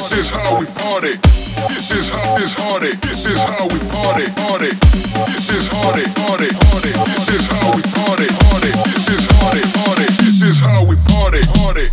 This is how we party. This is how this party. This is how we party. Party. This is party. Party. Party. This is how we party. Party. This is party. Party. This is how we party. Party.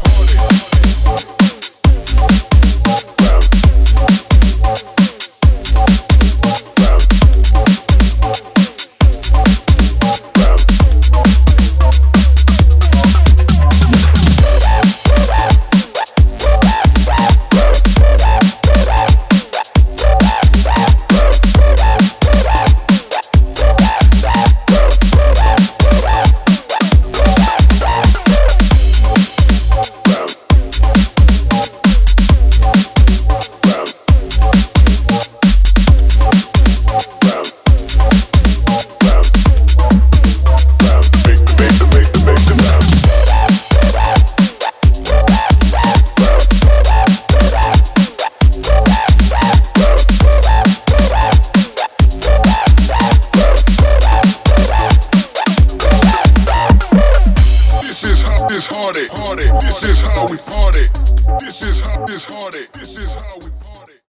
This is how we party.